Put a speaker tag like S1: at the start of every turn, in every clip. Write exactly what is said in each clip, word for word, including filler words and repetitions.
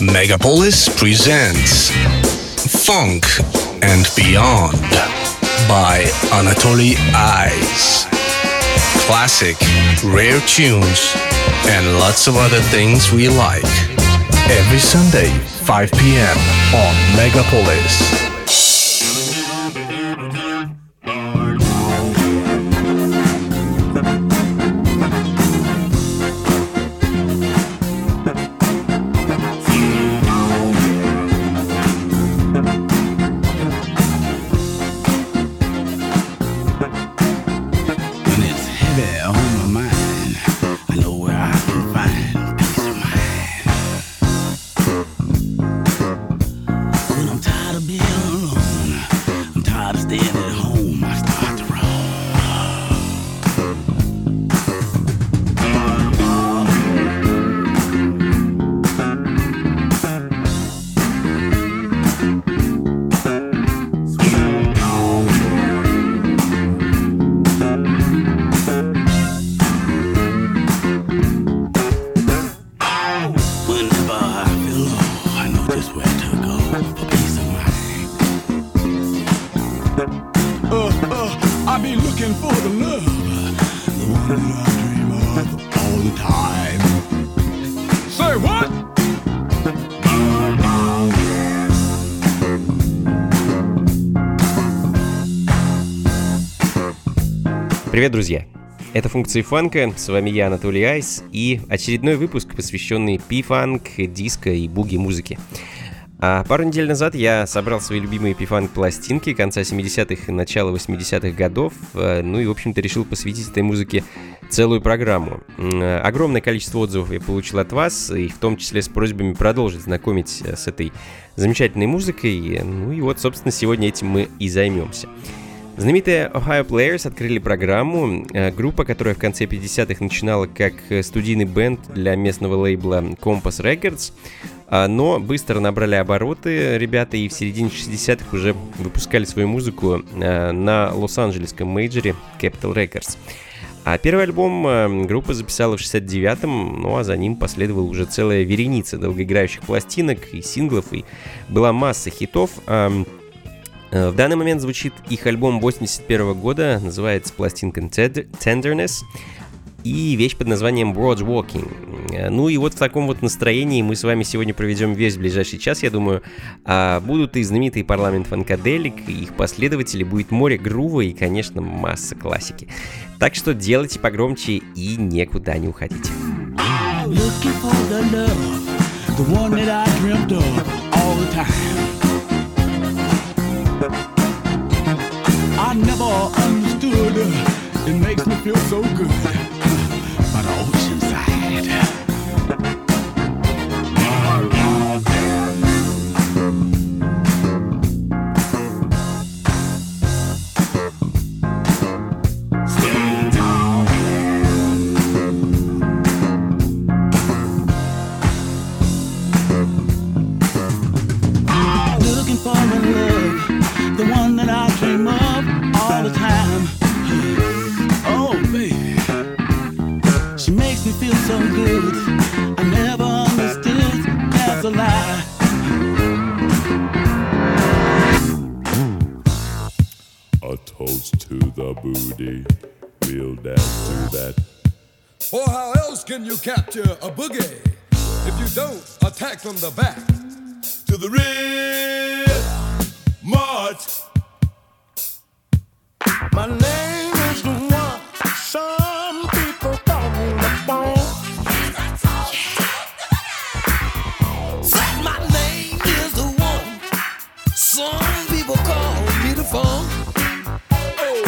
S1: Megapolis presents Funk and Beyond by Anatoly Ice. Classic, rare tunes, and lots of other things we like. Every Sunday, five p.m. on Megapolis.
S2: Привет, друзья! Это функции фанка, с вами я, Анатолий Айс, и очередной выпуск, посвященный пи-фанк, диско и буги-музыке. А пару недель назад я собрал свои любимые пи-фанк пластинки конца семидесятых и начала восьмидесятых годов, ну и, в общем-то, решил посвятить этой музыке целую программу. Огромное количество отзывов я получил от вас, и в том числе с просьбами продолжить знакомить с этой замечательной музыкой, ну и вот, собственно, сегодня этим мы и займемся. Знаменитые Ohio Players открыли программу, группа, которая в конце пятидесятых начинала как студийный бенд для местного лейбла Compass Records, но быстро набрали обороты ребята и в середине шестидесятых уже выпускали свою музыку на лос-анджелесском мейджоре Capitol Records. А первый альбом группа записала в шестьдесят девятом, ну а за ним последовала уже целая вереница долгоиграющих пластинок и синглов, и была масса хитов. В данный момент звучит их альбом восемьдесят первого года, называется пластинка Tenderness, и вещь под названием Broad Walking. Ну и вот в таком вот настроении мы с вами сегодня проведем весь ближайший час, я думаю. А будут и знаменитый парламент фанкаделик, и их последователи, будет море грува и, конечно, масса классики. Так что делайте погромче и никуда не уходите.
S3: I never understood, it makes me feel so good, by the ocean side. Looking for the love, the one that I dream of all the time. Oh, baby, she makes me feel so good. I never understood, that's a lie.
S4: A toast to the booty, we'll dance to that.
S5: For how else can you capture a boogie if you don't attack from the back?
S4: To the rear march.
S3: My name is the one some people call me the phone.
S6: Said my name is the one some people call me the phone.
S4: Oh.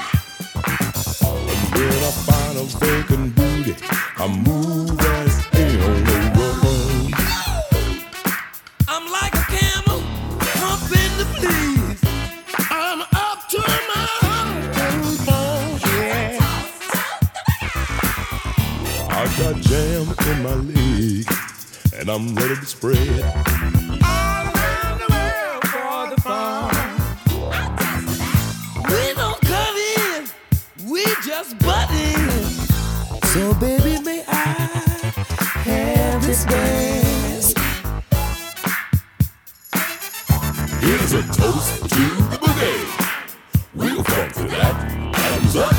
S4: And when I find a vacant booty, I move as in on the road.
S6: I'm like a camel humping the fleas.
S3: I'm up to my bones, yeah.
S4: I got jam in my leg, and I'm ready to spread.
S3: All around the world for the fun.
S6: We don't cut in, we just butt in. So baby, may I have this dance?
S4: Here's a toast to the boogie. We'll funk to that. Bottoms up.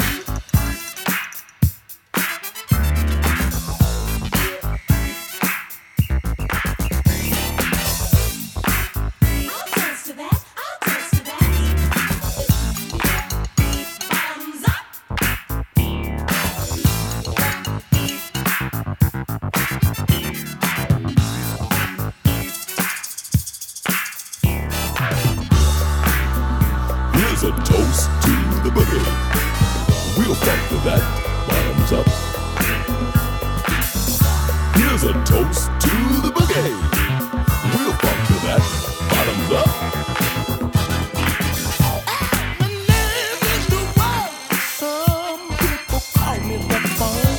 S4: Here's a toast to the boogie. We'll funk to that. Bottoms up. Here's a toast to the boogie. We'll funk to that. Bottoms up.
S6: My name is the one. Some people call me the phone.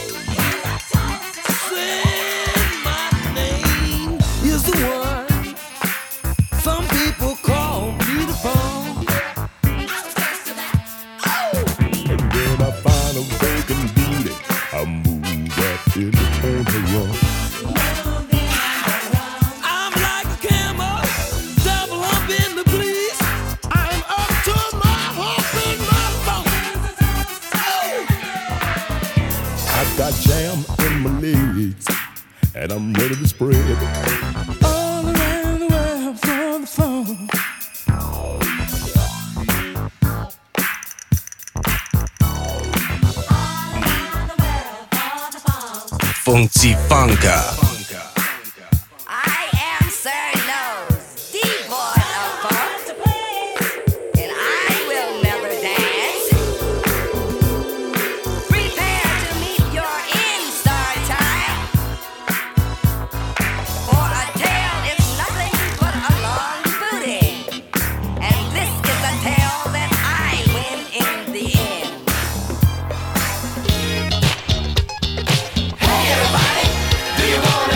S6: Saying my name is the one. Some people call me the phone.
S4: And when I find a vacant booty, I move that in the run.
S6: I'm like a camel, double up in the police. I'm up to my hump in my bones.
S4: I got jam in my legs, and I'm ready to spread.
S6: All around the world for the phone.
S1: Funky Funka.
S7: I am Sir Nose, devoid of funk, and I will never dance. Prepare to meet your in-star time, for a tale is nothing but a long booty, and this is a tale that I win in the end. Hey everybody, do you want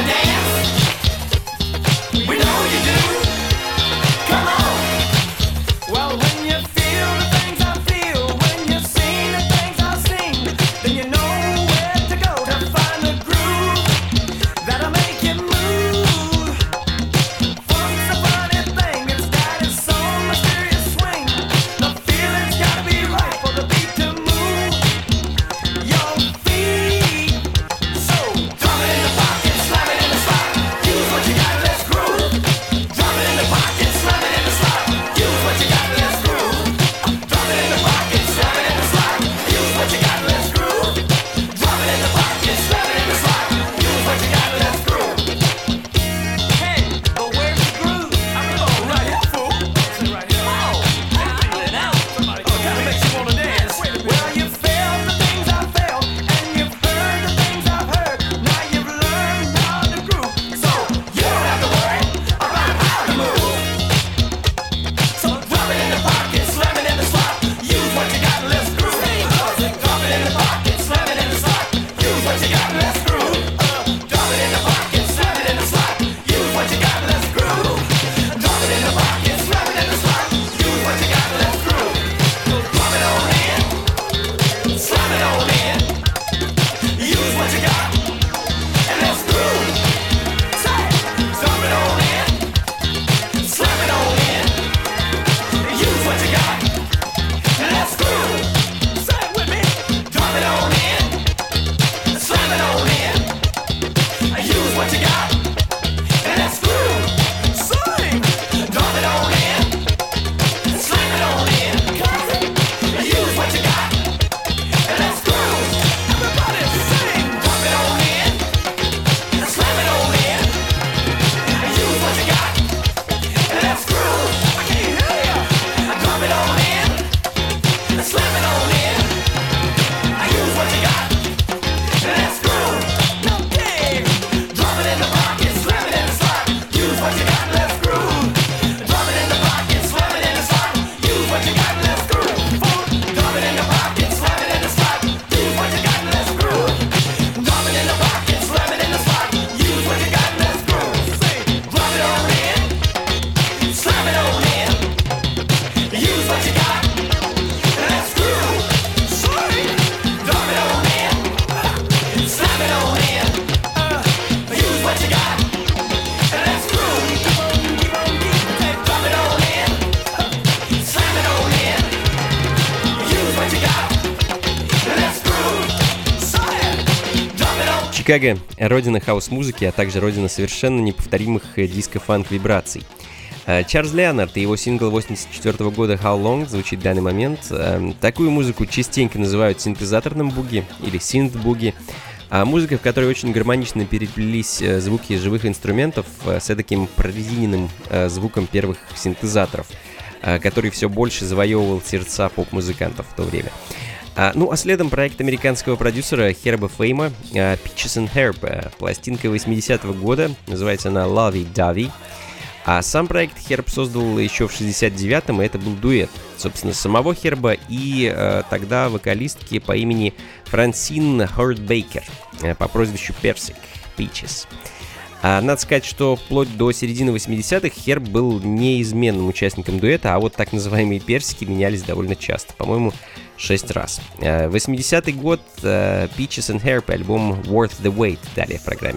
S2: Чикаго — родина хаус-музыки, а также родина совершенно неповторимых диско-фанк-вибраций. Чарльз Леонард и его сингл восемьдесят четвёртого года «How Long» звучит в данный момент. Такую музыку частенько называют синтезаторным буги или синт-буги, а музыка, в которой очень гармонично переплелись звуки живых инструментов с таким прорезиненным звуком первых синтезаторов, который все больше завоевывал сердца поп-музыкантов в то время. А, ну а следом проект американского продюсера Херба Фейма «Peaches and Herb», пластинка восьмидесятого года, называется она «Lovey Dovey». А сам проект Херб создал еще в шестьдесят девятом, и это был дуэт, собственно, самого Херба и э, тогда вокалистки по имени Франсин Хорд Бейкер э, по прозвищу Персик, Peaches. А, надо сказать, что вплоть до середины восьмидесятых Херб был неизменным участником дуэта, а вот так называемые персики менялись довольно часто, по-моему, шесть раз. Э, восьмидесятый год, э, Peaches and Herb, альбом Worth the Wait, далее в программе.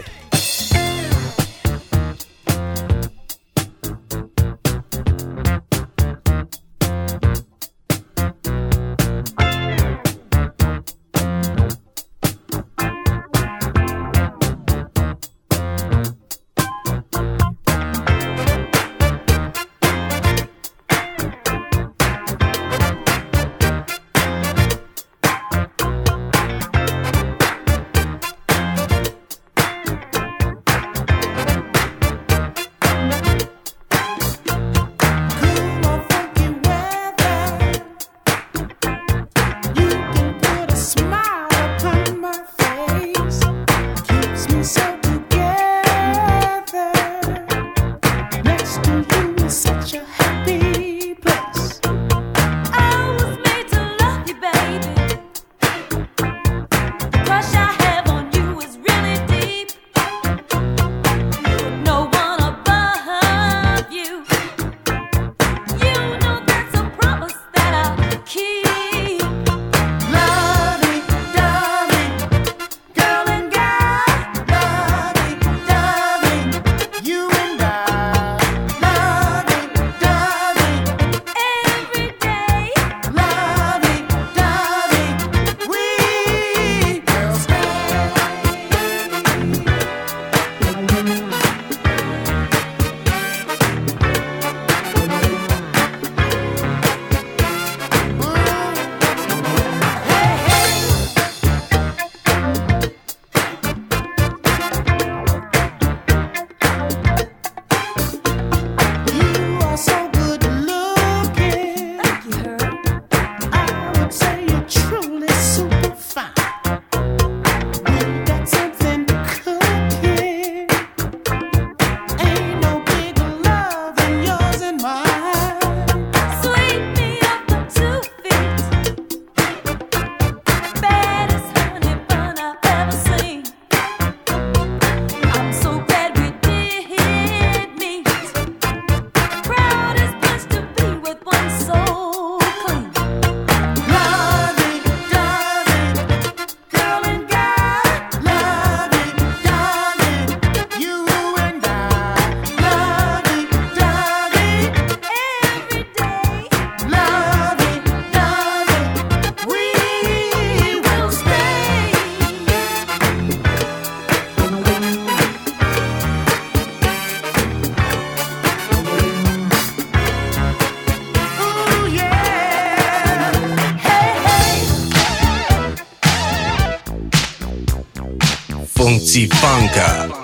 S1: Funzifanka.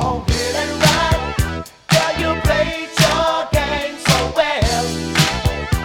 S8: You played your game so well.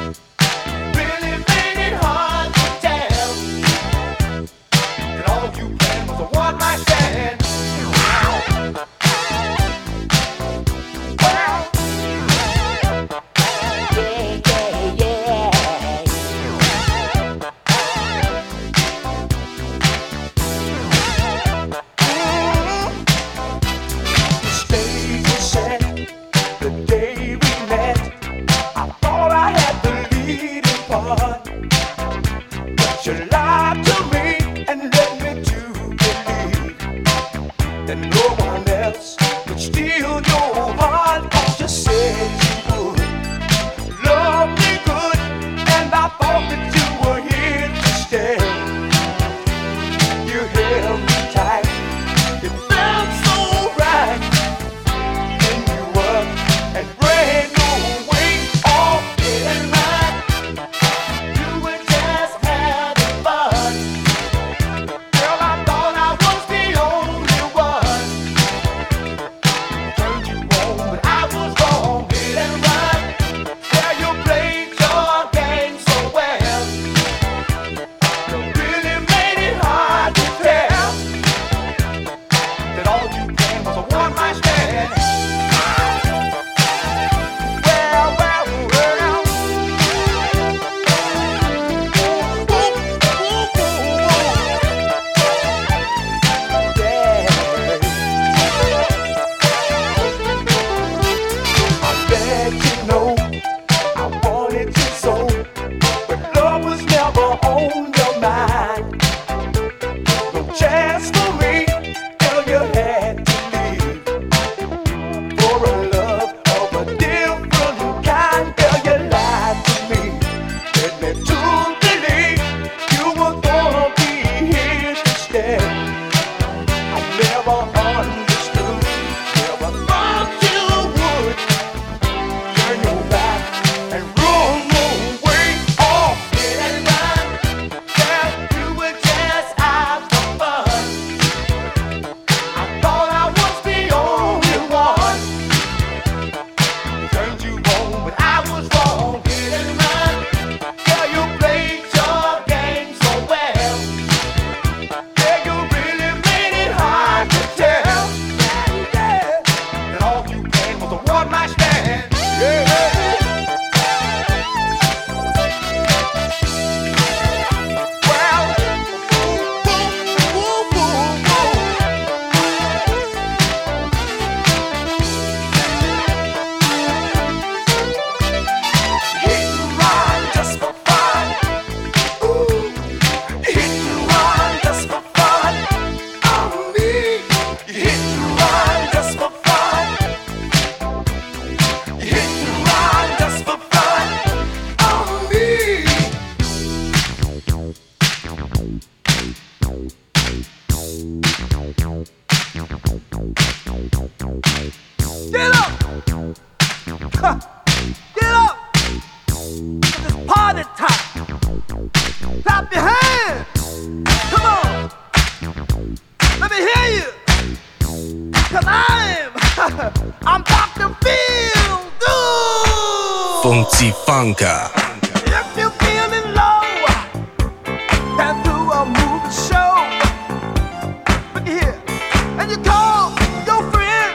S1: Funky Funka.
S6: If you're feeling low, and do a movie show, look here, and you call your friends,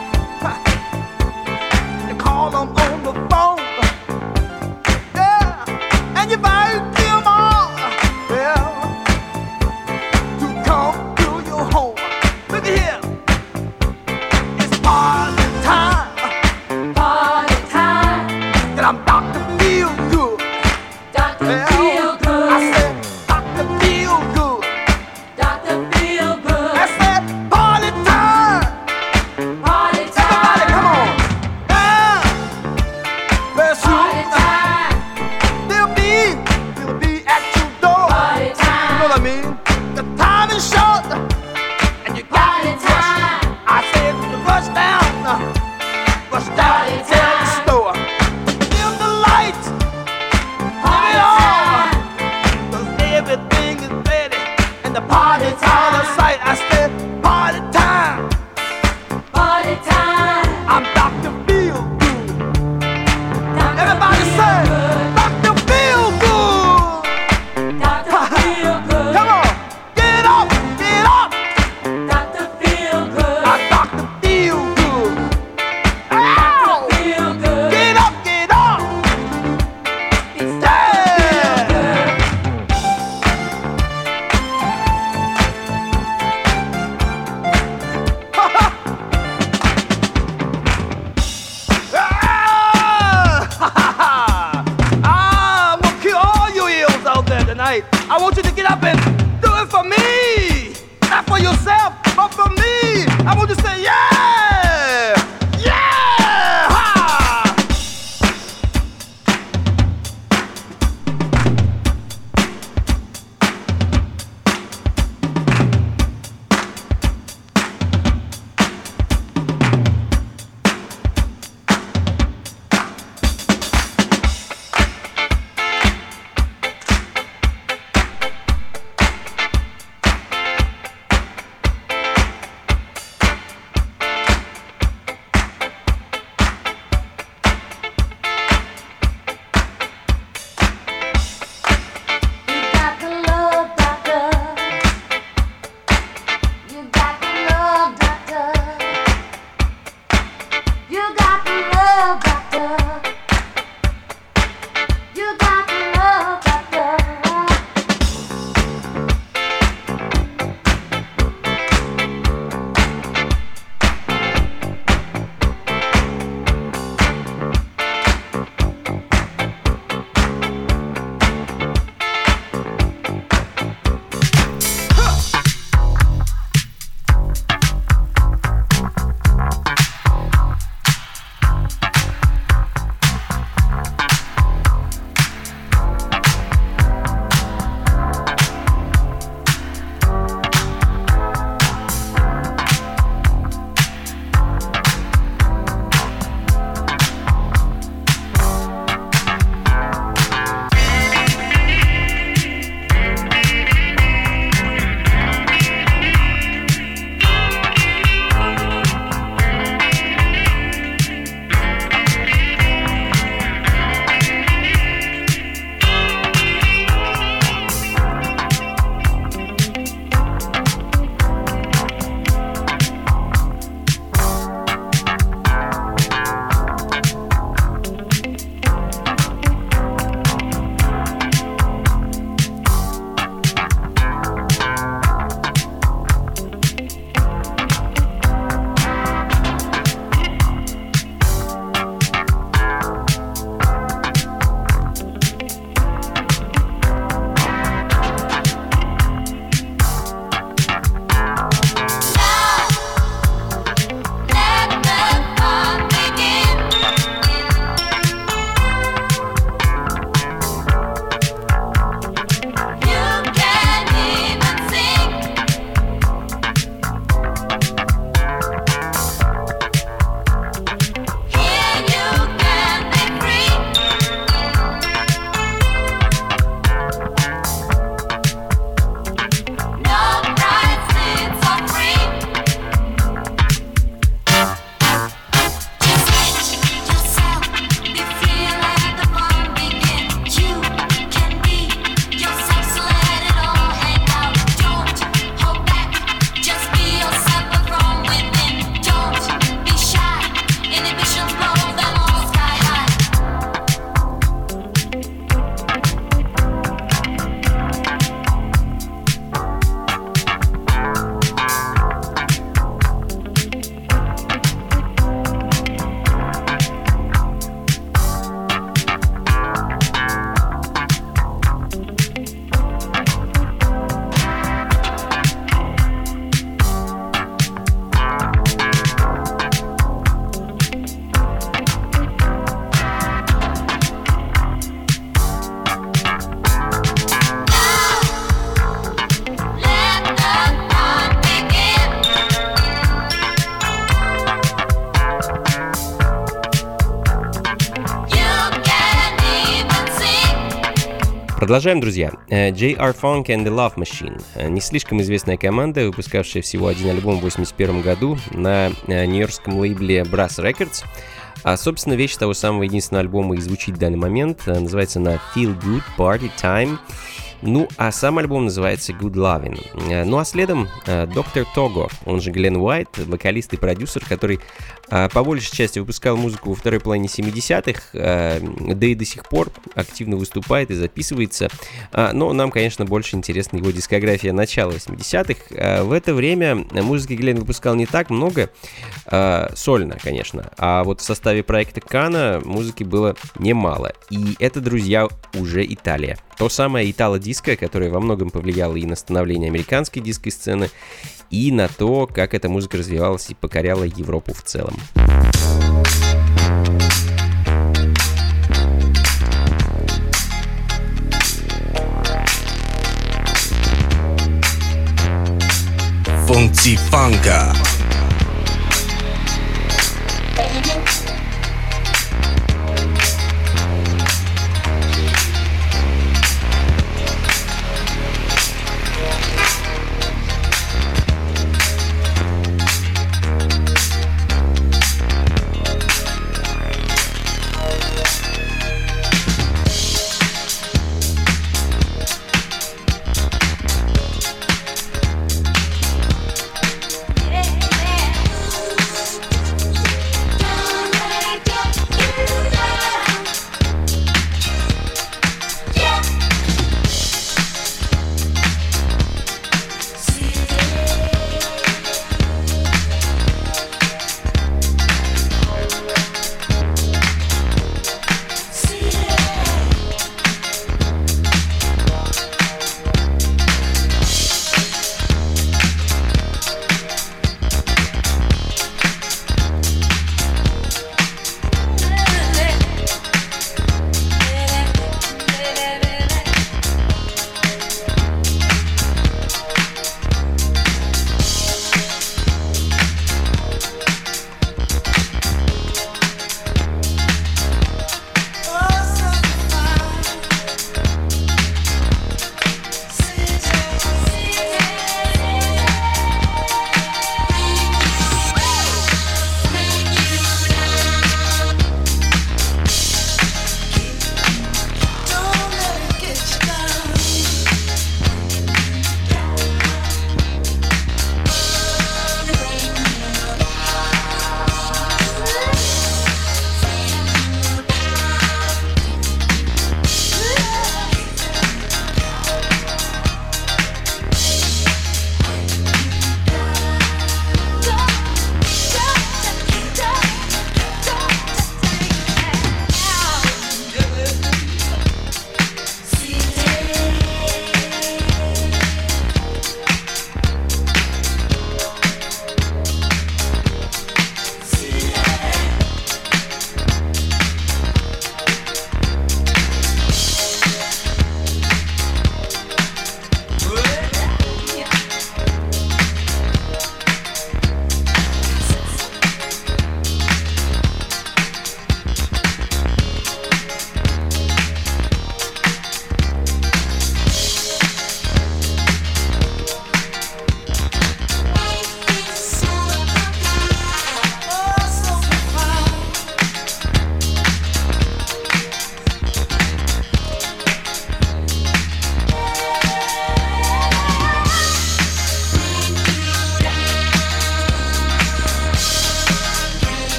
S6: you call them on the phone, yeah, and you invite them all, well, to come to your home. Look here, it's party time, party time, and I'm Doctor Feel Good. Doctor Yeah. Feel Good. I said, Doctor Feel Good. Doctor Feel Good. I said, party time. Party time. Everybody, come on. Yeah. Let's party time. They'll be, they'll be at your door. Party time. You know what I mean? The time is short, and you got party to rush. Time. I said, rush down, rush down party to the store. Dim the light. Party time. Cause everything is ready and the party's out of sight. I said, party time. Party time. I'm Doctor Feel Good. Everybody say, Doctor Feel Good. Doctor Feel Good. Come on, get up, get up. Doctor Feel Good. I'm Doctor Feel Good. Ow. Feel Good. Get up, get up. Yeah. Ah, I'm gonna kill all you eels out there tonight. I want you to get up and do it for me. Not for yourself, but for me. I want you to say, yeah! Yeah! Ha!
S2: Продолжаем, друзья. джей ар Funk and the Love Machine. Не слишком известная команда, выпускавшая всего один альбом в восемьдесят первом году на нью-йоркском лейбле Brass Records. А, собственно, вещь того самого единственного альбома и звучит в данный момент. Называется она Feel Good Party Time. Ну, а сам альбом называется Good Lovin'. Ну, а следом доктор Того, он же Глен Уайт, вокалист и продюсер, который по большей части выпускал музыку во второй половине семидесятых, да и до сих пор активно выступает и записывается. Но нам, конечно, больше интересна его дискография начала восьмидесятых. В это время музыки Глен выпускал не так много, сольно, конечно, а вот в составе проекта Кана музыки было немало. И это, друзья, уже Италия. То самое итало-диско, которое во многом повлияло и на становление американской диско-сцены, и на то, как эта музыка развивалась и покоряла Европу в целом.
S1: Funky Funka.
S7: Yeah.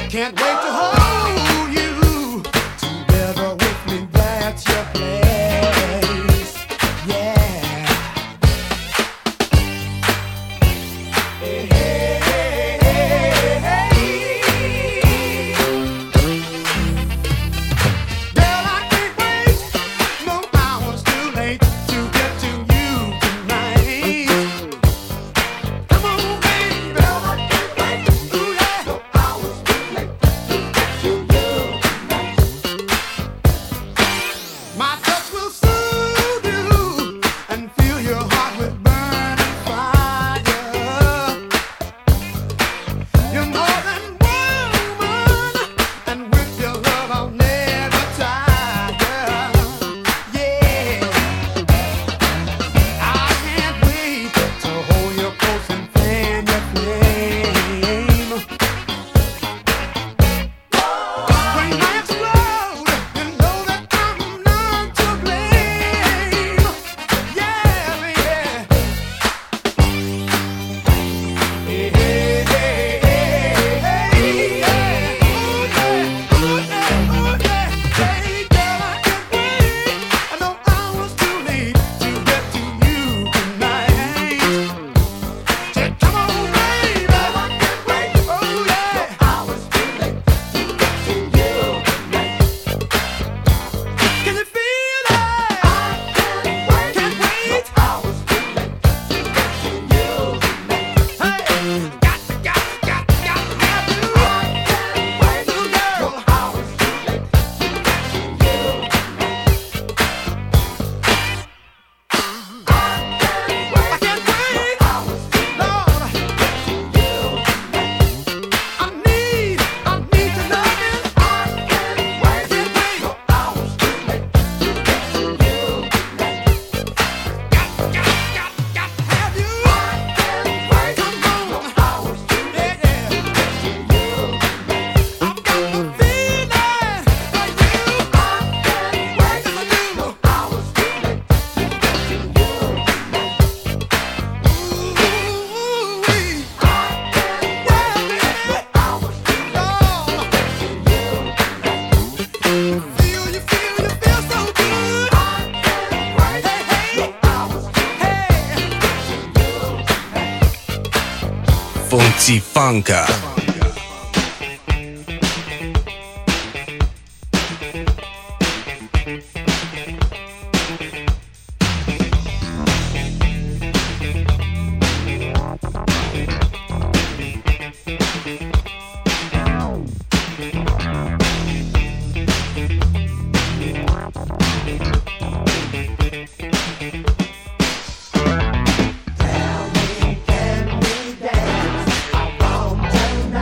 S6: Can't wait to hold you together with me. That's your place. Yeah. Hey, hey, hey, hey. Girl, I can't wait. No hours too late to get to you tonight. Come on, baby. Girl, I can't wait. Ooh, yeah. No hours too late to get to you tonight. My touch will soothe you and fill your heart with burning fire. You're more than woman, and with your love I'll never tire. Yeah, I can't wait to hold you close and fan your flame. When I explode, you know that I'm not to blame. Yeah, yeah. Hey, hey, hey, hey, hey, yeah. Ooh, yeah, ooh, yeah, ooh, yeah. Hey, girl, I can't wait. I know I was too late to get to you tonight. Say, come on, baby. I can't wait. Oh, yeah. I was too late to get to you tonight. Can you feel it? I can't wait. Can't wait. I was too late to get to you tonight. Hey, got to, got to, got to, got to have you. I can't wait. Little girl, I was too late to get to you tonight. I can't wait. I was too late to get to you tonight. I need, I need to love you. I can't wait. Can't wait. I was too late to get to you tonight. Got, got, got, got to have you. I can't wait. Come on. I was too late to get to you tonight. I've got the feeling for you. I can't wait. Yes, I do. I was too late to get to you tonight. Ooh, wee. I can't wait. I was too late to get to you tonight. Feel you, feel you, feel so good. I can't wait. Hey, hey. I was too late to get to you tonight.
S1: Funky Funka.
S6: Can we dance around tonight?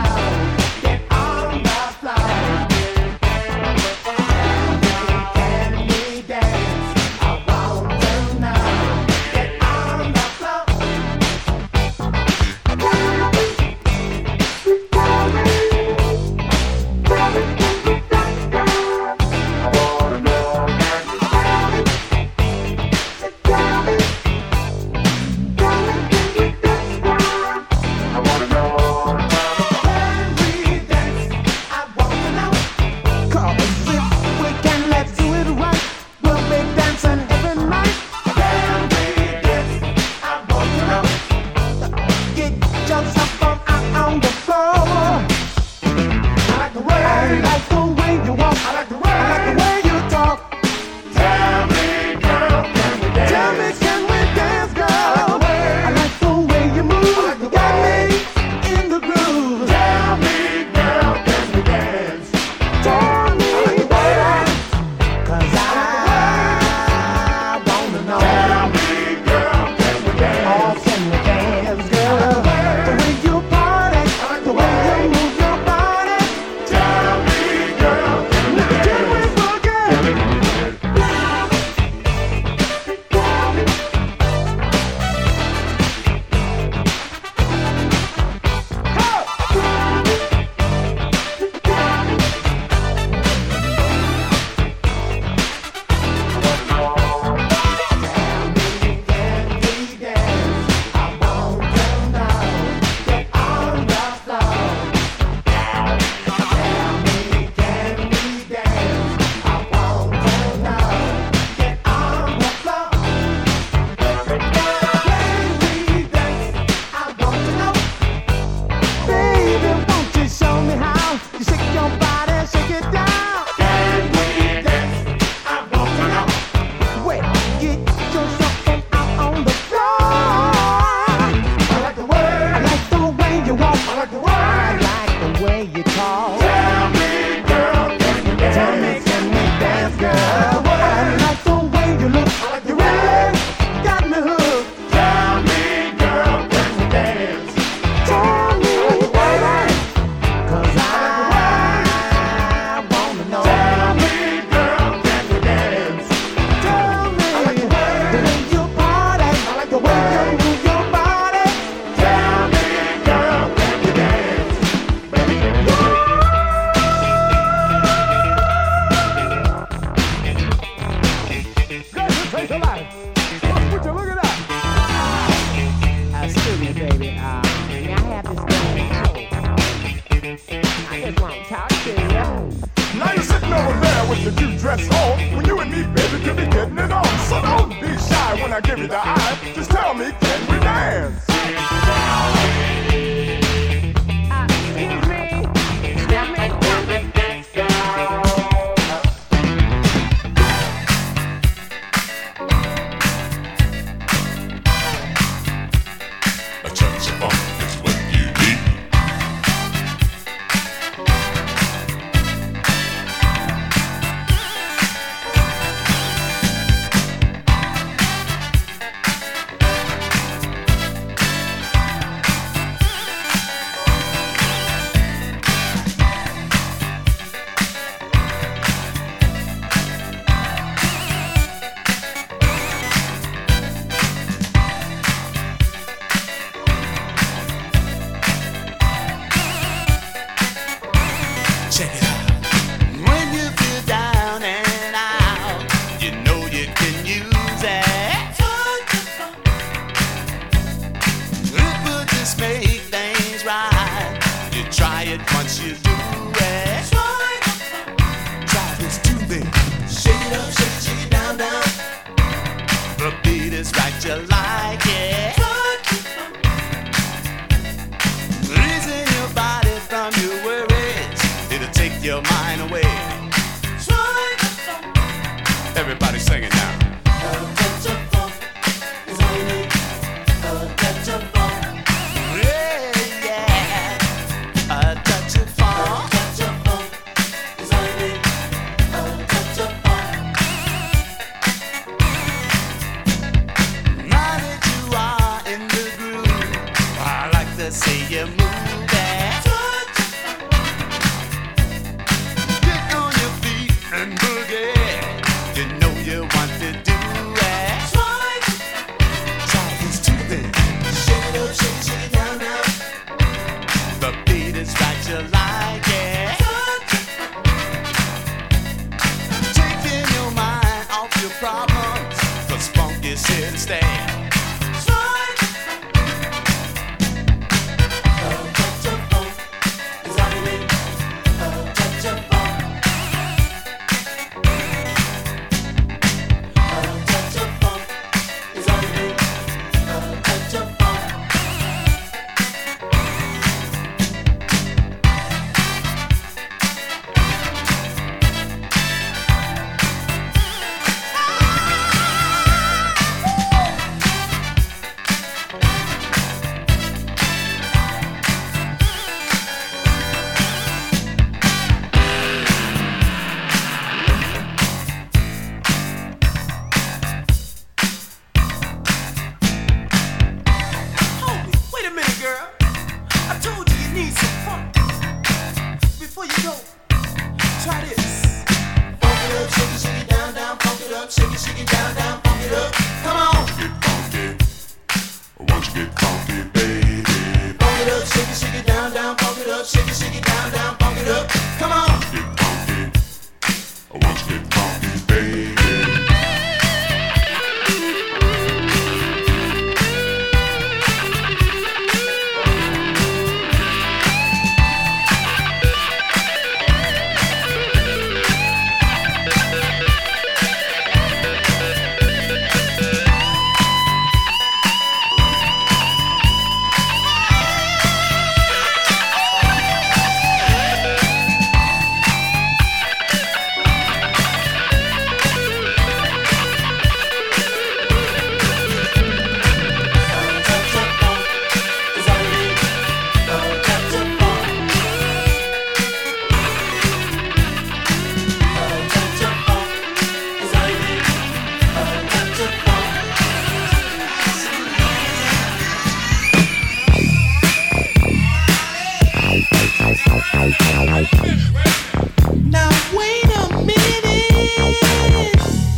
S6: way you talk. Tell me, girl, can you dance? Tell me, can we dance, girl? I like the way you look. You really got me hooked. Tell me, girl, can you dance? Tell me, baby, 'cause I wanna know. Tell me, girl, can you dance? Tell me, I like the way you party. I like the way you move your body. Tell me, girl, can you dance? Baby,
S5: Take a life. Would you look at that?
S8: Excuse me, baby. Uh, may I have this thing out? I just want to talk to you.
S5: Now you're sitting over there with your cute dress on. When you and me, baby, could be getting it on. So don't be shy when I give you the eye. Just tell me, can we dance?
S8: Uh, excuse me. Let me, let me dance, girl.
S4: A touch of funk is what you need.
S6: check it out. When you feel down and out, you know you can use it. It would just make things right. You try it once you do it. Try this too big. Shake it up, shake it, shake it down, down. The beat is right, you like it. Releasing your body from your worries, it'll take your mind away. Everybody sing it now. A touch of funk is all you need. A touch of funk. Yeah, yeah. A touch of funk. A touch of funk is all you need. A touch of funk. Now that you are in the groove, I like to see you move that. Get on your feet and boogie. You know you want to do it. Try this too big. Shake it up, shake it, shake it down, down. The beat is right, you like it. Taking your mind off your problems, 'cause funk is here to stay. A touch of funk is all you need. A touch of funk. A touch of funk is all you need. A touch of funk. Hold it. Wait a minute, girl. I told you you need some funk. Before you go, try this. Funk it up, shake it, shake it down, down. Funk it up, shake it, shake it down, down. Funk it up. Come on.
S4: Get funky. Won't you get funky, baby?
S6: Funk it up, shake it, shake it down, down. Funk it up, shake it, shake it down, down. Funk it up. Come on.
S4: Get funky. Won't you get funky, baby?
S6: Now wait a minute.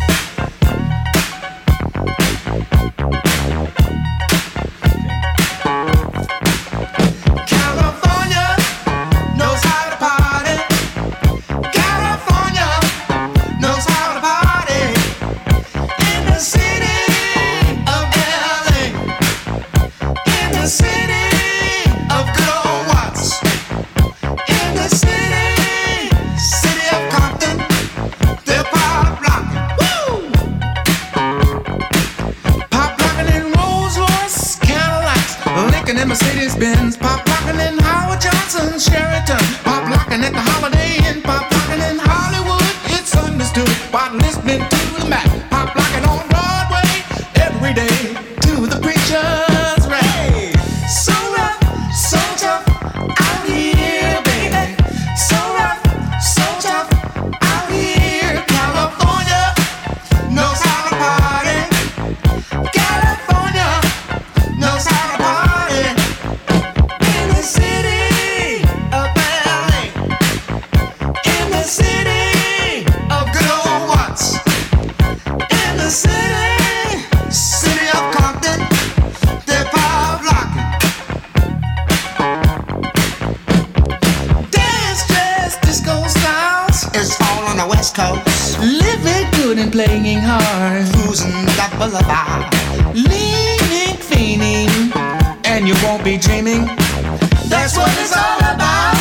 S6: California knows how to party. California knows how to party. In the city of L A, in the city of good old Watts, in the city, city of Compton, they're pop locking. Woo! Pop locking in Rolls Royce, Cadillacs, Lincoln and Mercedes Benz. Pop locking in Howard Johnson, Sheraton. Pop locking at the Holiday Inn. Pop locking in Hollywood, it's understood by listening to the Mac. Pop locking on Broadway every day to the preacher's rap. So rough, so tough out here, baby. So rough, so tough out here. California knows how to party. California knows how to party. In the city of L A, in the city of good old Watts, in the city, city of Compton, they're pop locking. Dance, dress, disco styles is all on the West Coast. Living good and playing hard, cruising the boulevard, leaning, fiending, and you won't be dreaming. That's what it's all about.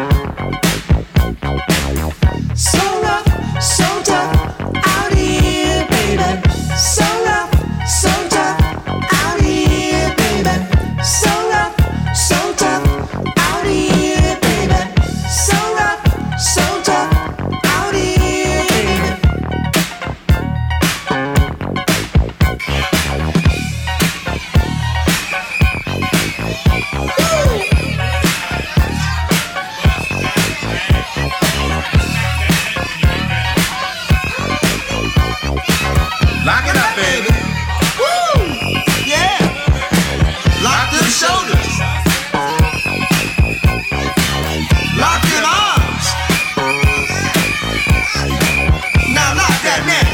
S6: So rough, so tough out here, baby. So rough, so tough out here, baby. So rough, so tough out here, baby. So rough, so tough out here, baby. Lock it up, baby. Woo! Yeah. Lock them shoulders. Lock them arms. Now lock that neck.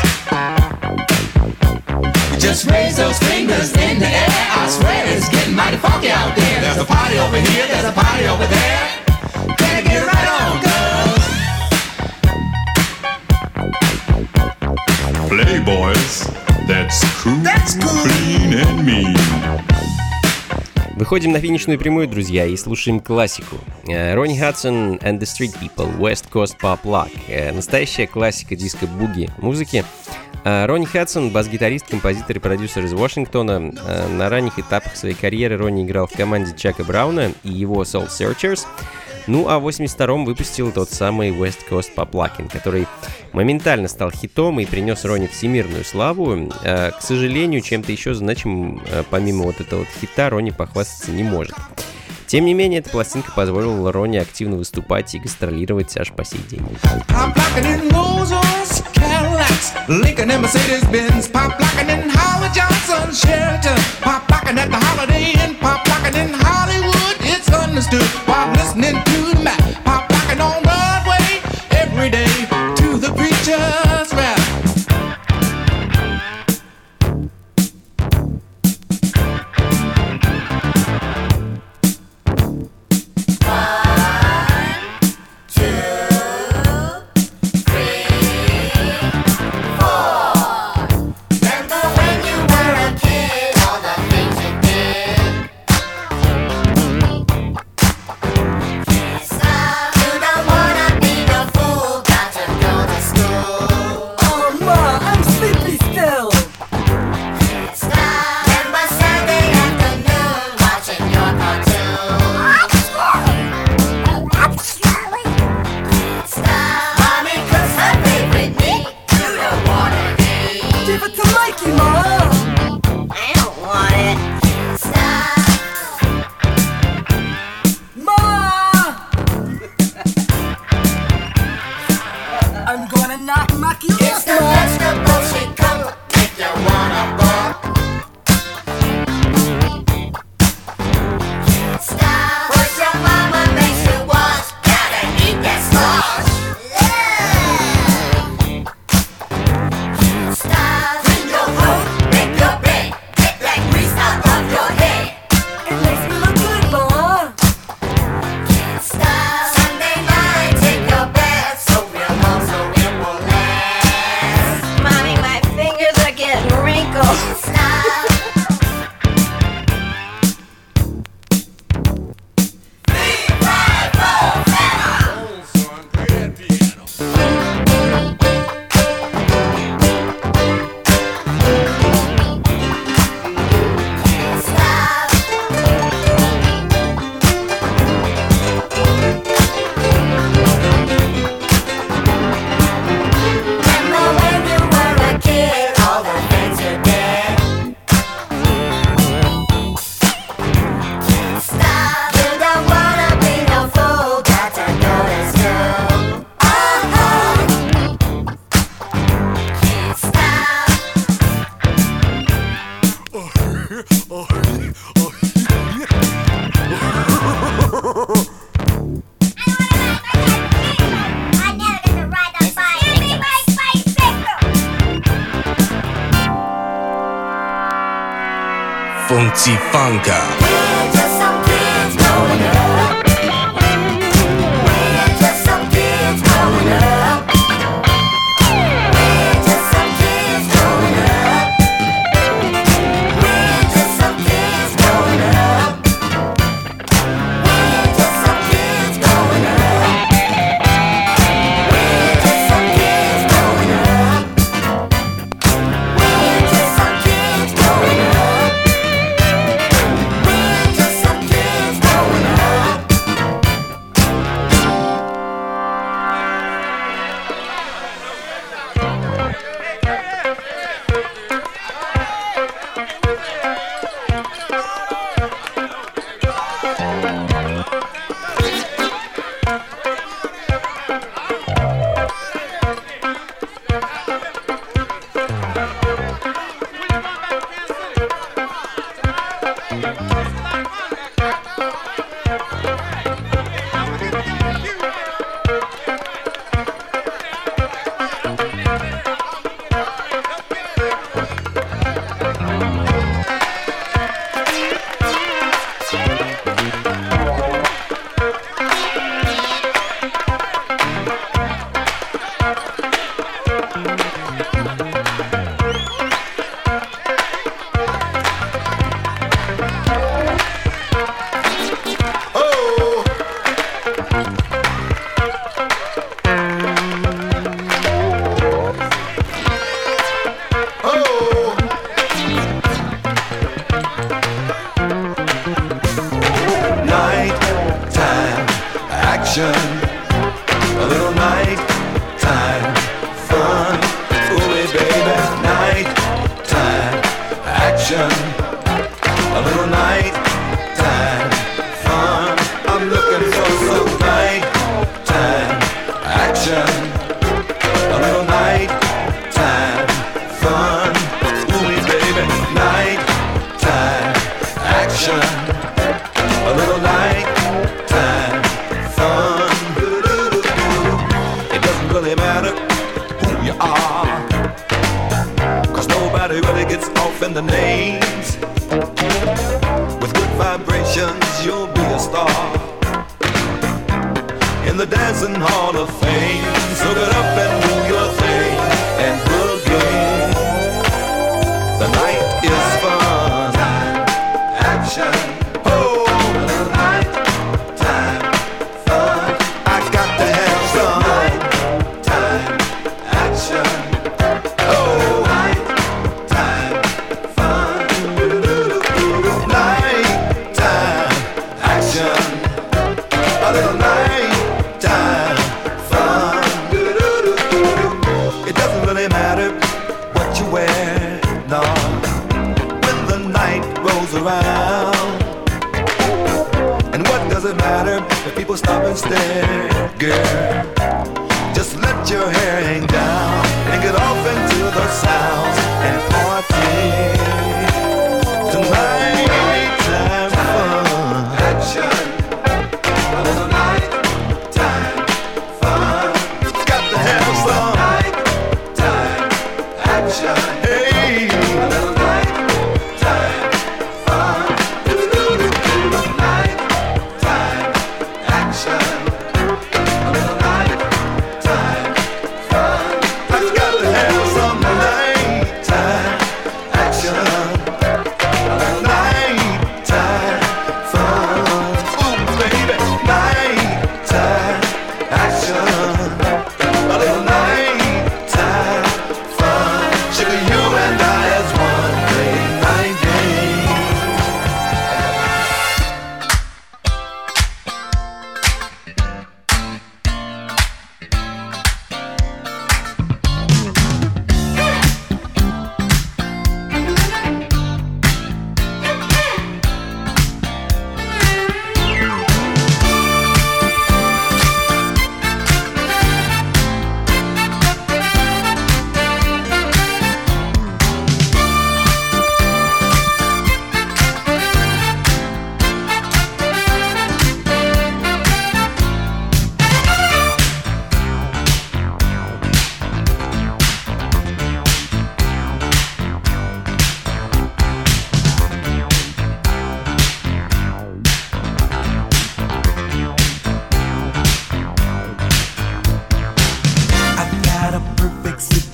S6: Just raise those fingers in the air. I swear it's getting mighty funky out there. There's a party over here, there's a party over there. Better get right on, girls.
S4: Playboys, that's cool,
S6: That's cool.
S4: clean and mean.
S2: Выходим на финишную прямую, друзья, и слушаем классику. Э, Ронни Хадсон and the Street People, West Coast Pop Lock. Э, Настоящая классика диско-буги музыки. Э, Ронни Хадсон, бас-гитарист, композитор и продюсер из Вашингтона. Э, На ранних этапах своей карьеры Ронни играл в команде Чака Брауна и его Soul Searchers. Ну а в восемьдесят втором выпустил тот самый West Coast Pop Lockin', который моментально стал хитом и принес Ронни всемирную славу. Э, К сожалению, чем-то еще значимым, э, помимо вот этого вот хита, Ронни похвастаться не может. Тем не менее, эта пластинка позволила Ронни активно выступать и гастролировать аж по сей день.
S6: Pop locking in Rolls Royce, Cadillacs, Lincoln and Mercedes Benz. Pop locking in Howard Johnson, Sheraton. Pop locking at the Holiday Inn. Pop locking in Hollywood, it's understood while listening to the Mac. Pop locking on Broadway every day to the preacher's rap.
S1: Funky Funka.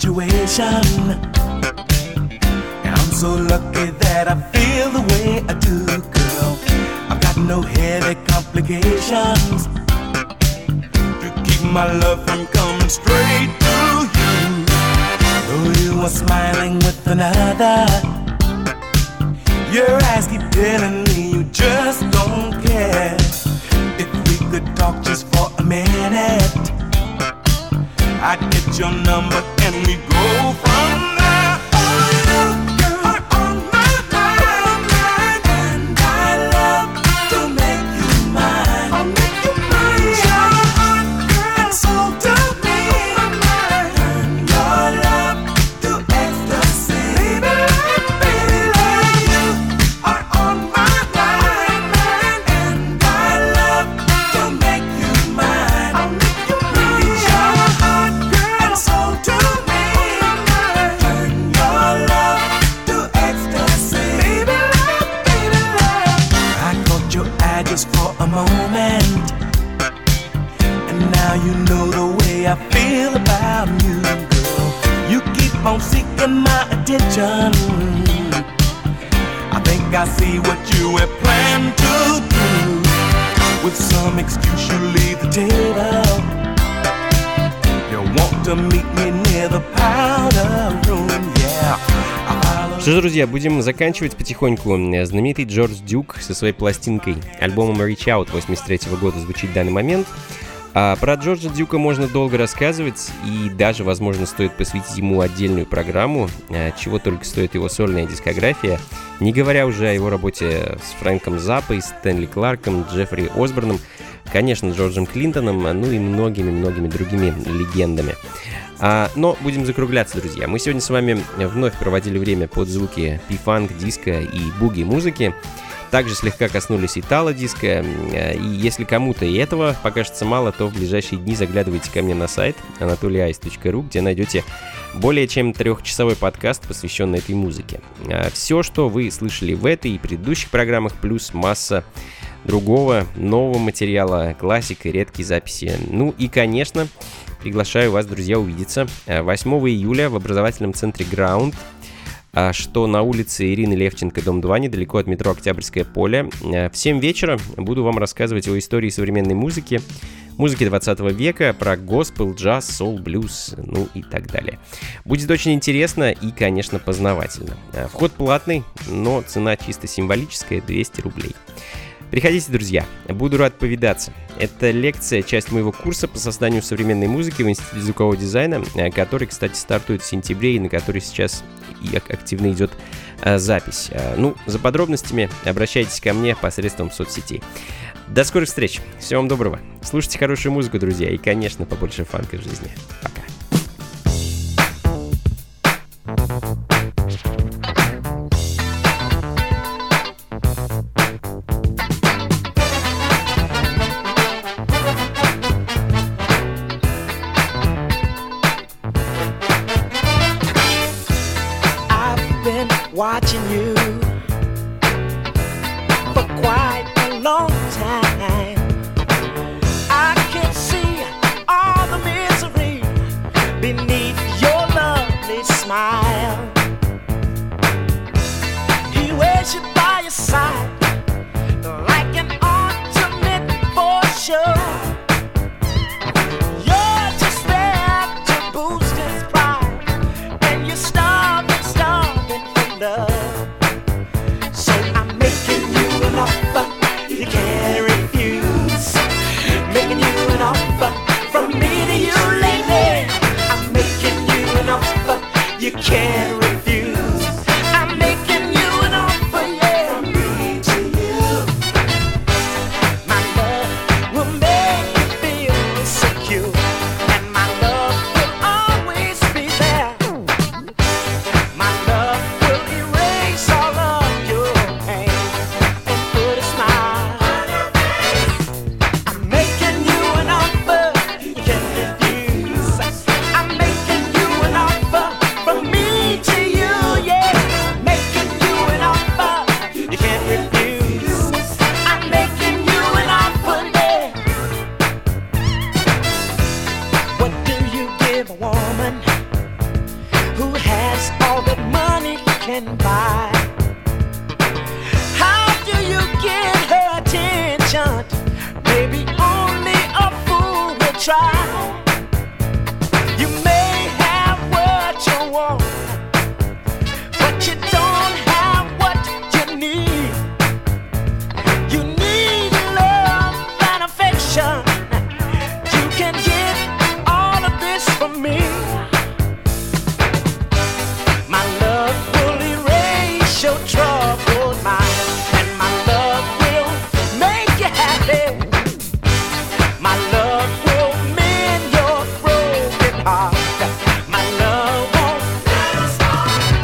S6: situation. And I'm so lucky that I feel the way I do, girl. I've got no heavy complications to keep my love from coming straight to you. Though you are smiling with another, your eyes keep telling me you just don't care. If we could talk just for a minute, I'd get your number and we'd go from there. Oh, you, girl, are on my mind, mind, and I love to make you mine. I'll make you mine. Your heart, girl, and soul to me. Turn your love to ecstasy. Baby, baby, like you are on my mind, mind, and I love to make you mine. I'll make you mine. Your heart, girl, and soul to me. Turn your love to ecstasy. Baby, love, baby, love. I caught your eye just for a moment, and now you know the way I feel about you, girl. You keep on seeking my attention. I think I see what you have planned to do. With some excuse you leave the table. You want to meet me near the powder room, yeah. I follow.
S2: Что ж, друзья, будем заканчивать потихоньку. Знаменитый Джордж Дюк со своей пластинкой, альбомом Reach Out восемьдесят третьего года звучит в данный момент. А про Джорджа Дюка можно долго рассказывать, и даже, возможно, стоит посвятить ему отдельную программу, чего только стоит его сольная дискография, не говоря уже о его работе с Фрэнком Заппой, Стэнли Кларком, Джеффри Осборном, конечно, Джорджем Клинтоном, ну и многими-многими другими легендами. А, но будем закругляться, друзья. Мы сегодня с вами вновь проводили время под звуки пи-фанк, диско и буги-музыки. Также слегка коснулись итало-диска, и если кому-то и этого покажется мало, то в ближайшие дни заглядывайте ко мне на сайт анатолий айс точка ру, где найдете более чем трехчасовой подкаст, посвященный этой музыке. Все, что вы слышали в этой и предыдущих программах, плюс масса другого нового материала, классика, редкие записи. Ну и, конечно, приглашаю вас, друзья, увидеться восьмого июля в образовательном центре Ground, что на улице Ирины Левченко, дом два, недалеко от метро Октябрьское поле. В семь вечера буду вам рассказывать о истории современной музыки, музыки двадцатого века, про госпел, джаз, соул, блюз, ну и так далее. Будет очень интересно и, конечно, познавательно. Вход платный, но цена чисто символическая, двести рублей. Приходите, друзья, буду рад повидаться. Это лекция, часть моего курса по созданию современной музыки в Институте звукового дизайна, который, кстати, стартует в сентябре и на который сейчас и активно идет а, запись. А, ну, за подробностями обращайтесь ко мне посредством соцсетей. До скорых встреч. Всего вам доброго. Слушайте хорошую музыку, друзья, и, конечно, побольше фанка в жизни. Пока.
S6: Watching you for quite a long time. I can see all the misery beneath your lovely smile. He wears you by your side like an ultimate for sure. You're just there to boost his pride, and you're starving, starving for love. So I'm making you an offer you can't refuse. Making you an offer from me to you, lady. I'm making you an offer you can't refuse. I'm making you an offer, yeah, from me to you. My love will make you feel secure, and my love will always be there. My love will erase all of your pain and put a smile. I'm making you an offer you can't refuse. I'm making you an offer from me to you, yeah. Making you an offer you can't refuse. I'm making you an offer, yeah. What do you give a woman who has all that money can buy. How do you get her attention? Maybe only a fool will try. You may have what you want, but you don't have what you need. You need love and affection. You can get all of this from me. My love will erase your troubled mind, and my love will make you happy. My love will mend your broken heart. My love won't never stop.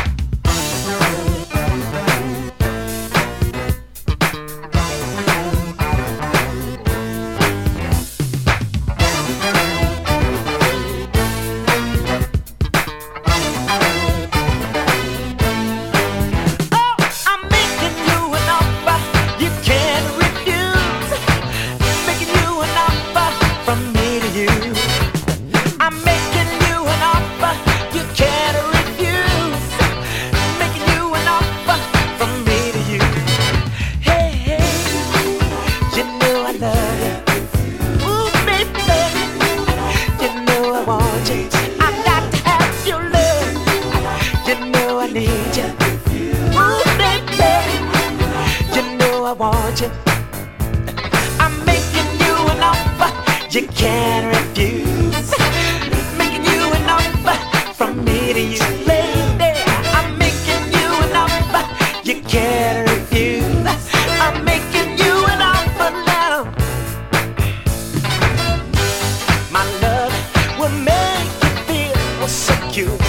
S6: Oh, I'm making you an offer you can't refuse. Making you an offer from me to you. I'm making you an offer you can't refuse. Making you an offer from me to you. Hey, hey, you know I love you. Ooh, baby, you know I want you. I got to have your love. You know I need you. Ooh, baby, you know I want you. I'm making you an offer you can't refuse. Making you an offer from me to you, lady. I'm making you an offer you can't refuse. I'm making you an offer now. My love will make you feel secure.